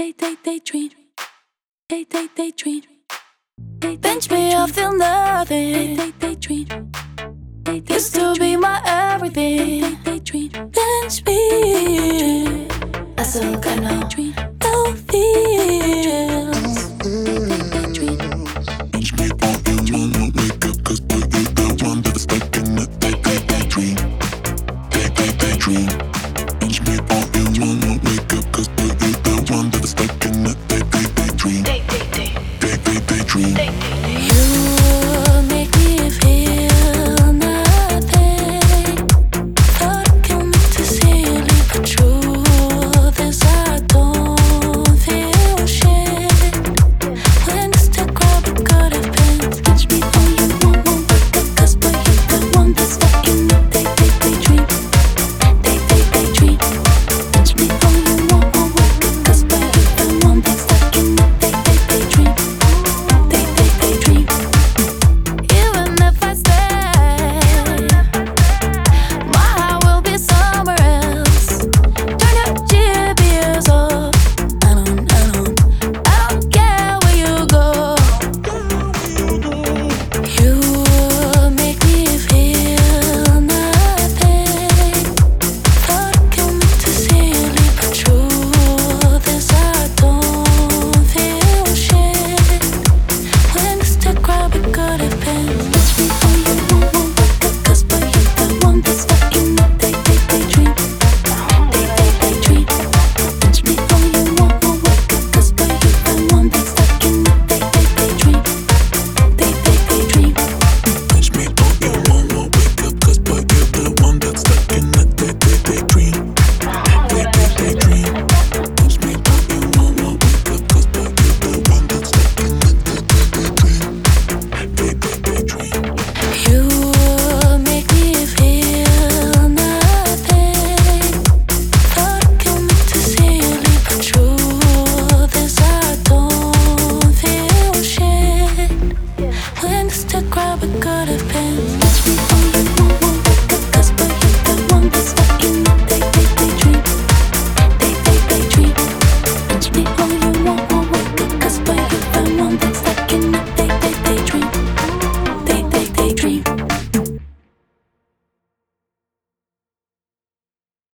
daydream. Bench me, I feel nothing. Daydream. Used to be my everything. Bench me, I still got no feels. Bench me all you want, won't wake up, 'cause boy you the one that's stuck in the daydream. Daydream. Bench me all you want, won't wake up, 'cause boy you the one that's stuck in the daydream. Daydream. You make me feel nothing. Thought I can make to silly, but truth is I don't feel shit. When it's to grab a good of pins, catch me all you want, won't wake up, 'cause boy you the one that's stuck in the daydream. Daydream. Catch me all you want, won't wake up, 'cause boy you the one that's stuck in the daydream. Even if I stay, my heart will be somewhere else. Turn your GPS up. I don't care where you go. You make me feel nothing. Thought I can make to silly, but truth is I don't feel shit. When it's to grab a good offense, catch me all you want, won't wake up, 'cause boy you the one that's stuck in the daydream. Daydream. Catch me all you want, won't wake up, 'cause boy you the one that's stuck in the daydream. Daydream. Bench me all you want, won't wake up, 'cause boy you the one that's stuck in the daydream. Daydream. Bench me all you want, won't wake up, 'cause boy you the one that's stuck in the daydream. You make me feel nothing. Thought I can make to silly, but truth is I don't feel shit. When it's to grab a good